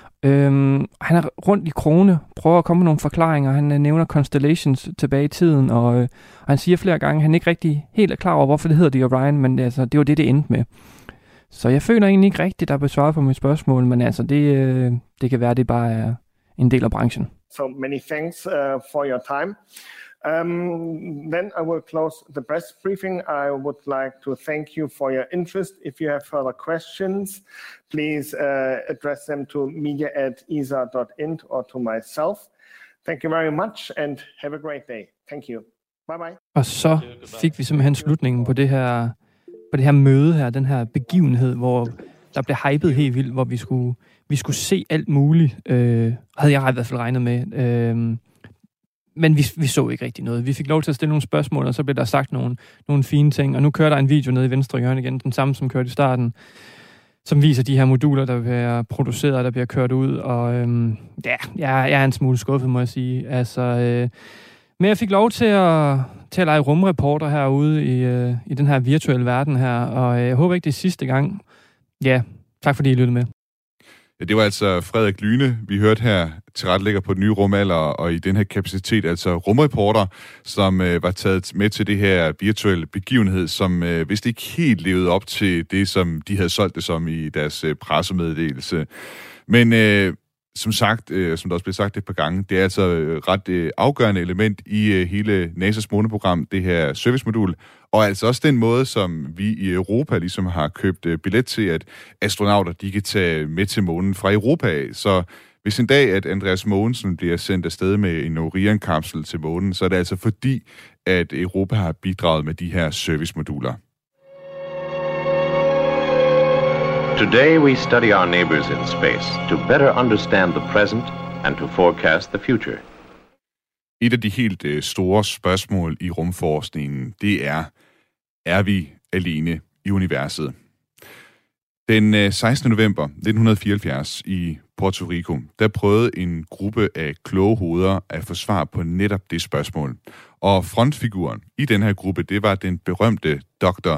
Han er rundt i krone, prøver at komme med nogle forklaringer. Han nævner Constellations tilbage i tiden, og han siger flere gange, at han ikke rigtig helt er klar over, hvorfor det hedder de Orion, men det var det endte med. Så jeg føler egentlig ikke rigtigt, der er besvaret på mit spørgsmål, men altså, det kan være, det bare er en del af branchen. So many thanks for your time. Then I will close the press briefing. I would like to thank you for your interest. If you have further questions, please address them to media@esa.int or to myself. Thank you very much and have a great day. Thank you. Bye bye. Og så fik vi simpelthen slutningen på det her møde her, den her begivenhed, hvor der blev hypet helt vildt, hvor vi skulle se alt muligt, havde jeg i hvert fald regnet med. Men vi så ikke rigtig noget. Vi fik lov til at stille nogle spørgsmål, og så blev der sagt nogle fine ting, og nu kører der en video nede i venstre hjørne igen, den samme som kørte i starten, som viser de her moduler, der bliver produceret, der bliver kørt ud, og jeg er en smule skuffet, må jeg sige. Altså, men jeg fik lov til at lege rumreporter herude i den her virtuelle verden her, og jeg håber ikke, det er sidste gang. Ja, tak fordi I lyttede med. Ja, det var altså Frederik Lyne, vi hørte her, tilrettelægger på den nye rumalder, og i den her kapacitet, altså rumreporter, som var taget med til det her virtuelle begivenhed, som vist ikke helt levede op til det, som de havde solgt det som i deres pressemeddelelse. Men som sagt, som der også blev sagt et par gange, det er altså ret afgørende element i hele NASA's måneprogram, det her servicemodul, og altså også den måde, som vi i Europa ligesom har købt billet til, at astronauter, de kan tage med til månen fra Europa af. Så hvis en dag, at Andreas Mogensen bliver sendt afsted med en Orion-kapsel til månen, så er det altså fordi, at Europa har bidraget med de her servicemoduler. Today we study our neighbors in space to better understand the present and to forecast the future. Et af de helt store spørgsmål i rumforskningen, det er vi alene i universet? Den 16. november 1974 i Puerto Rico, der prøvede en gruppe af kloge hoveder at få svar på netop det spørgsmål. Og frontfiguren i den her gruppe, det var den berømte Dr.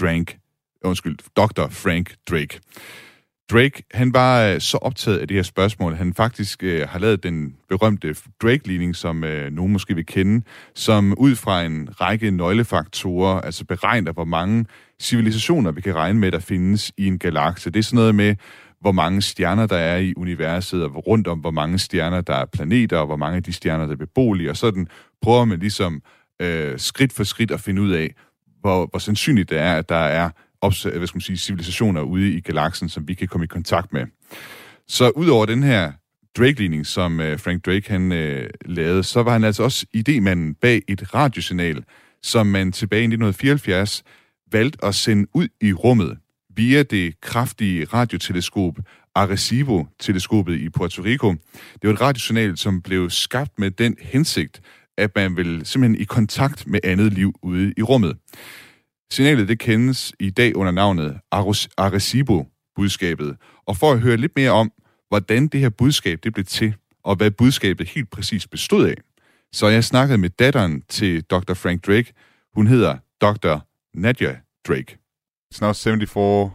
Frank Drake. Drake, han var så optaget af det her spørgsmål, han faktisk har lavet den berømte Drake-ligning, som nogen måske vil kende, som ud fra en række nøglefaktorer, altså beregner, hvor mange civilisationer vi kan regne med, der findes i en galakse. Det er sådan noget med, hvor mange stjerner der er i universet, og rundt om, hvor mange stjerner der er planeter, og hvor mange af de stjerner, der er beboelige, og sådan prøver man ligesom skridt for skridt at finde ud af, hvor sandsynligt det er, at der er civilisationer ude i galaksen, som vi kan komme i kontakt med. Så udover den her Drake-ligning, som Frank Drake han lavede, så var han altså også idémanden bag et radiosignal, som man tilbage i 1974 valgte at sende ud i rummet via det kraftige radioteleskop Arecibo-teleskopet i Puerto Rico. Det var et radiosignal, som blev skabt med den hensigt, at man vil simpelthen i kontakt med andet liv ude i rummet. Signalet det kendes i dag under navnet Arecibo-budskabet. Og for at høre lidt mere om, hvordan det her budskab det blev til, og hvad budskabet helt præcis bestod af, så jeg snakket med datteren til Dr. Frank Drake. Hun hedder Dr. Nadia Drake. It's now 47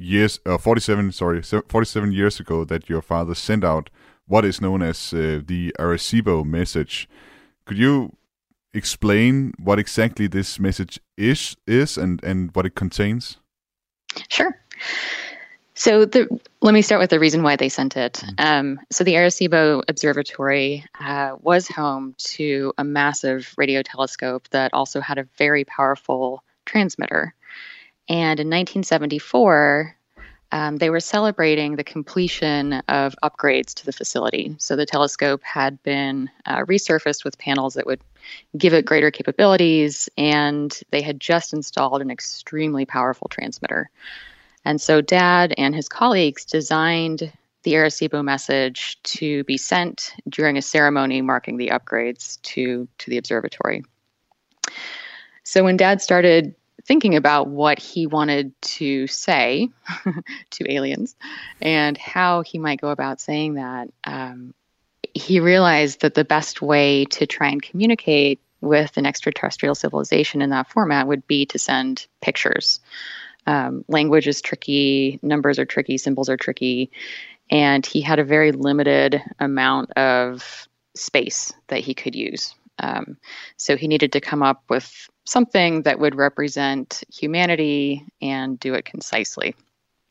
years ago that your father sent out what is known as the Arecibo message. Could you explain what exactly this message is and what it contains? Sure. So let me start with the reason why they sent it. So the Arecibo Observatory was home to a massive radio telescope that also had a very powerful transmitter. And in 1974, they were celebrating the completion of upgrades to the facility. So the telescope had been resurfaced with panels that would give it greater capabilities, and they had just installed an extremely powerful transmitter. And so Dad and his colleagues designed the Arecibo message to be sent during a ceremony marking the upgrades to the observatory. So when Dad started thinking about what he wanted to say to aliens and how he might go about saying that, he realized that the best way to try and communicate with an extraterrestrial civilization in that format would be to send pictures. Language is tricky, numbers are tricky, symbols are tricky, and he had a very limited amount of space that he could use. So he needed to come up with something that would represent humanity and do it concisely.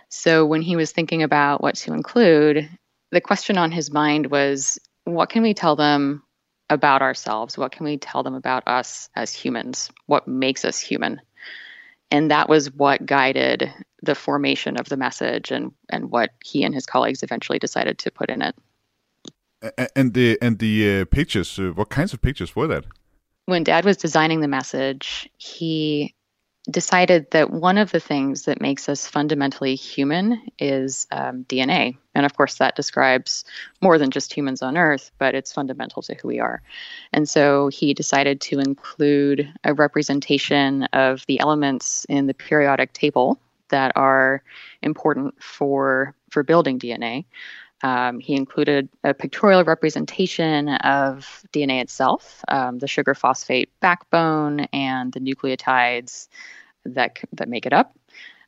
So when he was thinking about what to include, the question on his mind was, what can we tell them about ourselves? What can we tell them about us as humans? What makes us human? And that was what guided the formation of the message and what he and his colleagues eventually decided to put in it. And the pictures, what kinds of pictures were that? When Dad was designing the message, he decided that one of the things that makes us fundamentally human is DNA. And of course, that describes more than just humans on Earth, but it's fundamental to who we are. And so he decided to include a representation of the elements in the periodic table that are important for building DNA. He included a pictorial representation of DNA itself, the sugar phosphate backbone and the nucleotides that make it up.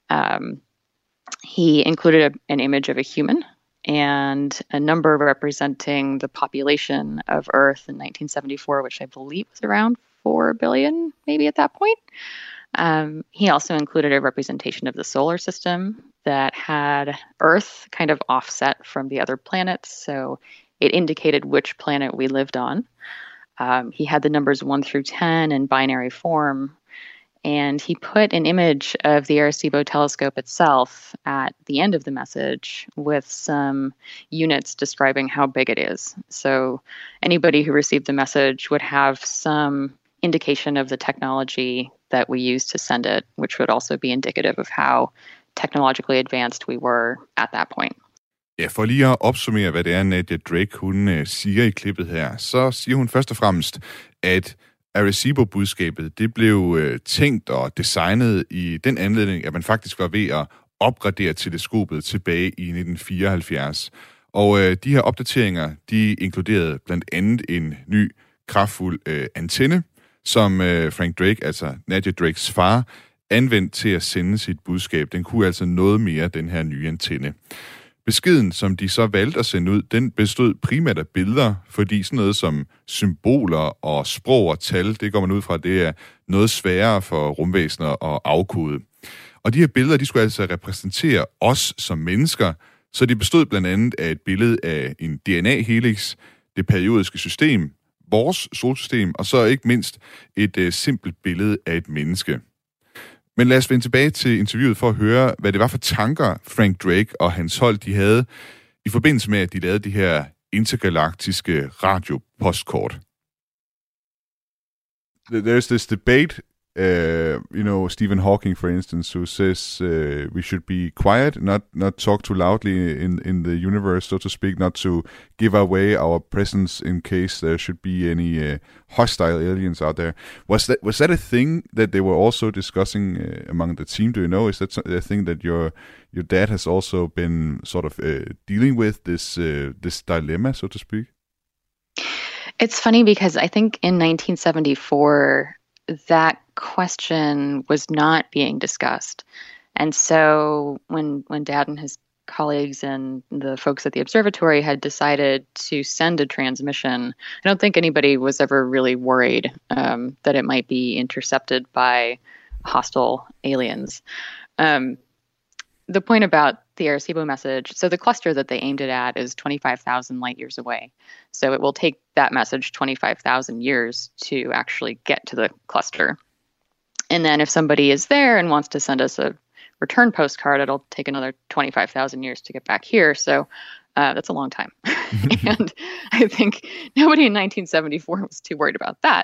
He included an image of a human and a number representing the population of Earth in 1974, which I believe was around 4 billion, maybe at that point. He also included a representation of the solar system that had Earth kind of offset from the other planets, so it indicated which planet we lived on. He had the numbers 1 through 10 in binary form, and he put an image of the Arecibo telescope itself at the end of the message with some units describing how big it is. So anybody who received the message would have some indication of the technology that we used to send it, which would also be indicative of how technologically advanced we were at that point. Ja, for lige at opsummere, hvad det er, Nadia Drake, hun siger i klippet her, så siger hun først og fremmest, at Arecibo-budskabet, det blev tænkt og designet i den anledning, at man faktisk var ved at opgradere teleskopet tilbage i 1974. Og de her opdateringer, de inkluderede blandt andet en ny kraftfuld antenne, som Frank Drake, altså Nadia Drakes far, anvendt til at sende sit budskab. Den kunne altså noget mere, den her nye antenne. Beskeden, som de så valgte at sende ud, den bestod primært af billeder, fordi sådan noget som symboler og sprog og tal, det går man ud fra, det er noget sværere for rumvæsener at afkode. Og de her billeder, de skulle altså repræsentere os som mennesker, så de bestod blandt andet af et billede af en DNA-helix, det periodiske system, vores solsystem, og så ikke mindst et simpelt billede af et menneske. Men lad os vende tilbage til interviewet for at høre, hvad det var for tanker Frank Drake og hans hold, de havde i forbindelse med, at de lavede de her intergalaktiske radiopostkort. There's this debate, Stephen Hawking, for instance, who says we should be quiet, not talk too loudly in the universe, so to speak, not to give away our presence in case there should be any hostile aliens out there. Was that a thing that they were also discussing among the team? Do you know? Is that a thing that your dad has also been sort of dealing with, this dilemma, so to speak? It's funny because I think in 1974, that question was not being discussed. And so when Dad and his colleagues and the folks at the observatory had decided to send a transmission, I don't think anybody was ever really worried that it might be intercepted by hostile aliens. The point about the Arecibo message, so the cluster that they aimed it at is 25,000 light years away. So it will take that message 25,000 years to actually get to the cluster. And then if somebody is there and wants to send us a return postcard, it'll take another 25,000 years to get back here. So that's a long time. And I think nobody in 1974 was too worried about that.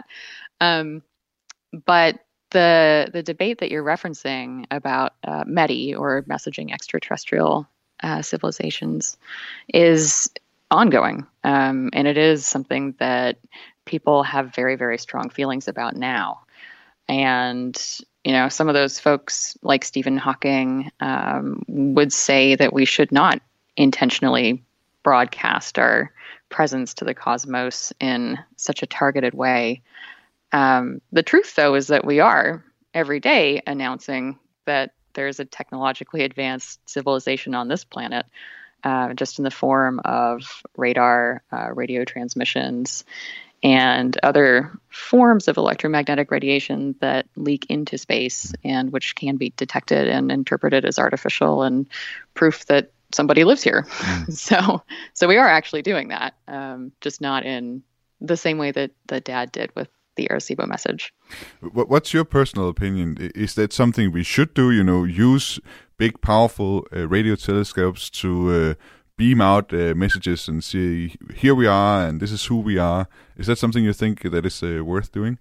But the debate that you're referencing about METI, or messaging extraterrestrial civilizations, is ongoing. And it is something that people have very, very strong feelings about now. And, some of those folks like Stephen Hawking would say that we should not intentionally broadcast our presence to the cosmos in such a targeted way. The truth, though, is that we are every day announcing that there's a technologically advanced civilization on this planet, just in the form of radar, radio transmissions, and other forms of electromagnetic radiation that leak into space and which can be detected and interpreted as artificial and proof that somebody lives here. So we are actually doing that, just not in the same way that Dad did with the Arecibo message. What's your personal opinion? Is that something we should do? Use big, powerful radio telescopes to beam out messages and say, here we are, and this is who we are. Is that something you think that is worth doing?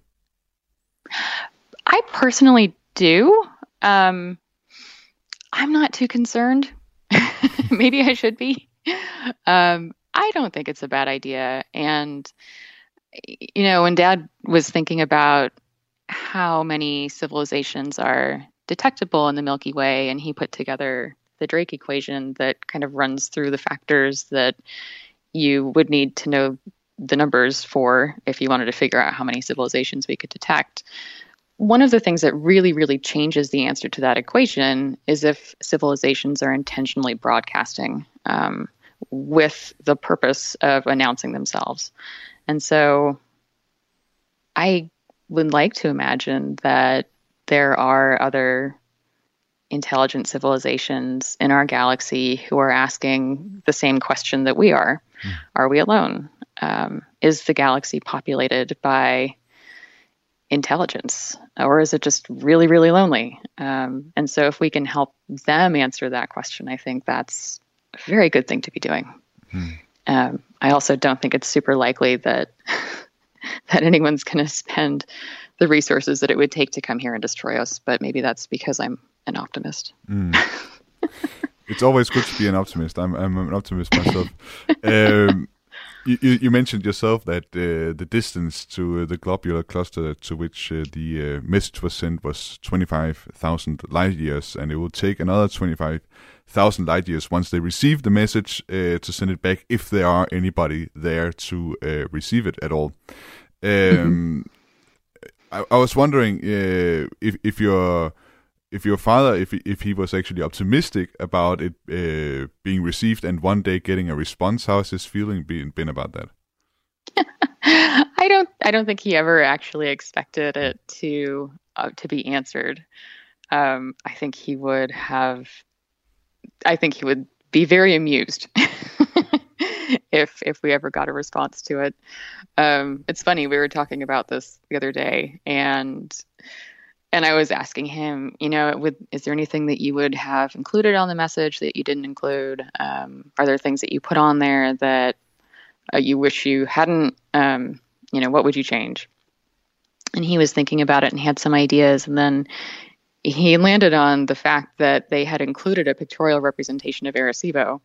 I personally do. I'm not too concerned. Maybe I should be. I don't think it's a bad idea. And, when Dad was thinking about how many civilizations are detectable in the Milky Way, and he put together the Drake equation that kind of runs through the factors that you would need to know the numbers for if you wanted to figure out how many civilizations we could detect. One of the things that really, really changes the answer to that equation is if civilizations are intentionally broadcasting with the purpose of announcing themselves. And so I would like to imagine that there are other intelligent civilizations in our galaxy who are asking the same question that we are. Are we alone? Is the galaxy populated by intelligence, or is it just really, really lonely? And so if we can help them answer that question, I think that's a very good thing to be doing. I also don't think it's super likely that anyone's going to spend the resources that it would take to come here and destroy us, but maybe that's because I'm an optimist. It's always good to be an optimist. I'm an optimist myself. You mentioned yourself that the distance to the globular cluster to which the message was sent was 25,000 light years, and it will take another 25,000 light years once they receive the message to send it back, if there are anybody there to receive it at all. I was wondering if your father, if he was actually optimistic about it being received and one day getting a response. How has his feeling been about that? I don't think he ever actually expected it to be answered. I think he would be very amused if we ever got a response to it. It's funny, we were talking about this the other day, and I was asking him, is there anything that you would have included on the message that you didn't include? Are there things that you put on there that you wish you hadn't? What would you change? And he was thinking about it and had some ideas, and then he landed on the fact that they had included a pictorial representation of Arecibo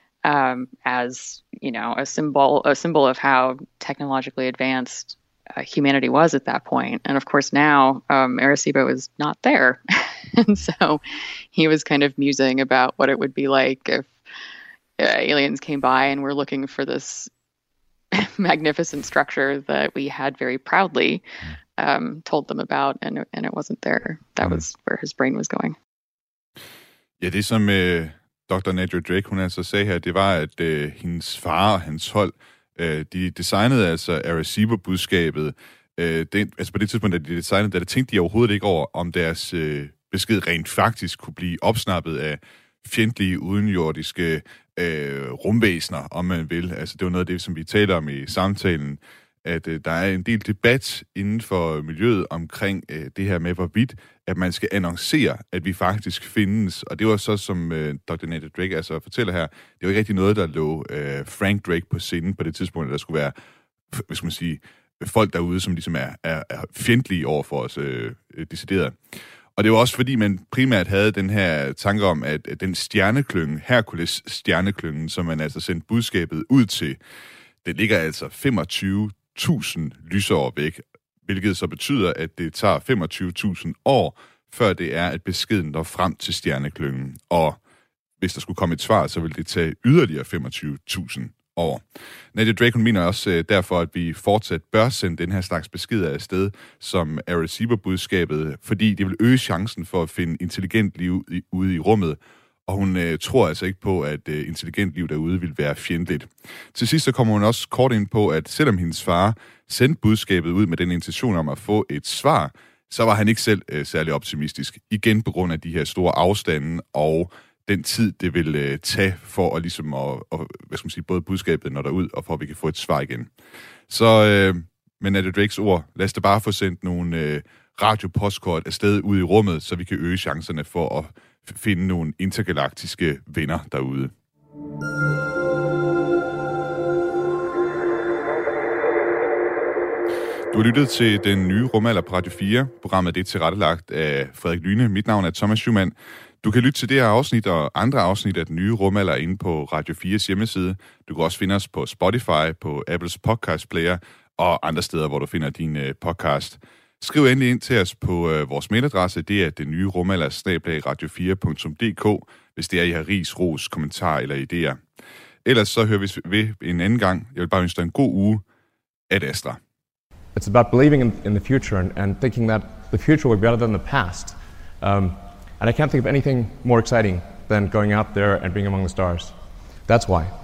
as, a symbol of how technologically advanced humanity was at that point. And of course now Arecibo is not there. And so he was kind of musing about what it would be like if aliens came by and were looking for this magnificent structure that we had very proudly told them about, and it wasn't there. That was where his brain was going. Ja, det som Dr. Nadia Drake, hun altså sagde her, det var, at hendes far og hans hold, de designede altså Arecibo-budskabet. På det tidspunkt, da de designede det, tænkte de overhovedet ikke over, om deres besked rent faktisk kunne blive opsnappet af fjendtlige udenjordiske rumvæsener, om man vil. Altså, det var noget af det, som vi taler om i samtalen, at der er en del debat inden for miljøet omkring det her med, hvorvidt at man skal annoncere, at vi faktisk findes. Og det var så, som Dr. Nadia Drake altså fortæller her, det var ikke rigtig noget, der lå Frank Drake på scenen på det tidspunkt, at der skulle være, hvad skal man sige, folk derude, som ligesom er fjendtlige over for os decideret. Og det var også fordi, man primært havde den her tanke om, at den stjerneklynge, Hercules stjerneklyngen, som man altså sendte budskabet ud til, det ligger altså 25.000 lysår væk, hvilket så betyder, at det tager 25.000 år, før det er, at beskeden når frem til stjerneklyngen. Og hvis der skulle komme et svar, så vil det tage yderligere 25.000 år. Nadia Drake, hun mener også derfor, at vi fortsat bør sende den her slags beskeder afsted som Arecibo-budskabet, fordi det vil øge chancen for at finde intelligent liv ude i rummet, og hun tror altså ikke på, at intelligent liv derude vil være fjendtligt. Til sidst så kommer hun også kort ind på, at selvom hendes far sendte budskabet ud med den intention om at få et svar, så var han ikke selv særlig optimistisk. Igen på grund af de her store afstande og den tid, det vil tage for at, ligesom hvad skal man sige, både budskabet når derud, og for at vi kan få et svar igen. Så med Nadia Drakes ord, lad os da bare få sendt nogle radiopostkort afsted ud i rummet, så vi kan øge chancerne for at finde nogle intergalaktiske venner derude. Du har lyttet til Den Nye Rumalder på Radio 4. Programmet er tilrettelagt af Frederik Lyne. Mit navn er Thomas Schumann. Du kan lytte til det her afsnit og andre afsnit af Den Nye Rumalder inde på Radio 4's hjemmeside. Du kan også finde os på Spotify, på Apples podcast player og andre steder, hvor du finder din podcast. Skriv endelig ind til os på vores mailadresse. Det er dennyrumalder@radio4.dk, hvis det er, I har ris, ros, kommentarer eller idéer. Ellers så hører vi ved en anden gang. Jeg vil bare ønske dig en god uge. Ad Astra. It's about believing in the future and thinking that the future will be better than the past. And I can't think of anything more exciting than going out there and being among the stars. That's why.